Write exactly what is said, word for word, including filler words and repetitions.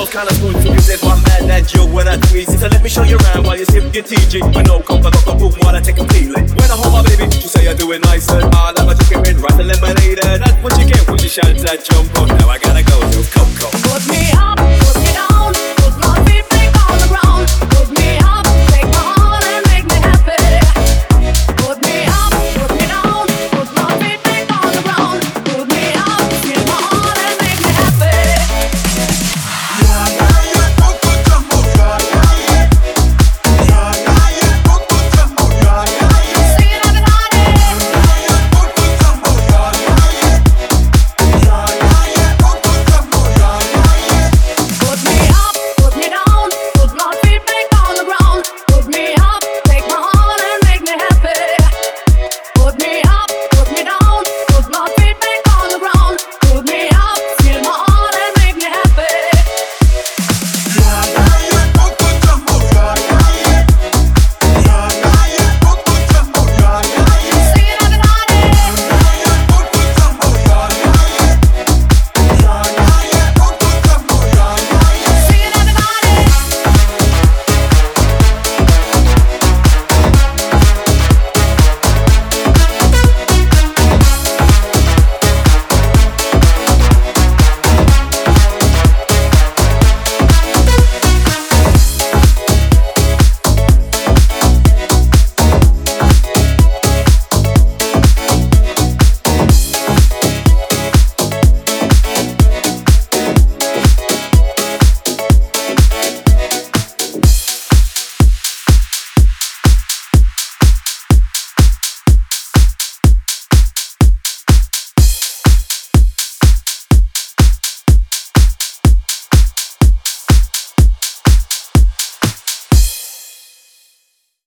smells kinda smooth too. You said one man and you when I tweeze. So let me show you around while you sip your T G. With no comfort, got the boom while I take a feeling. When I hold my baby, she say I do it nicer. I like my chicken red, right the lemonade. That's what you get when you shout that jump on. Now I got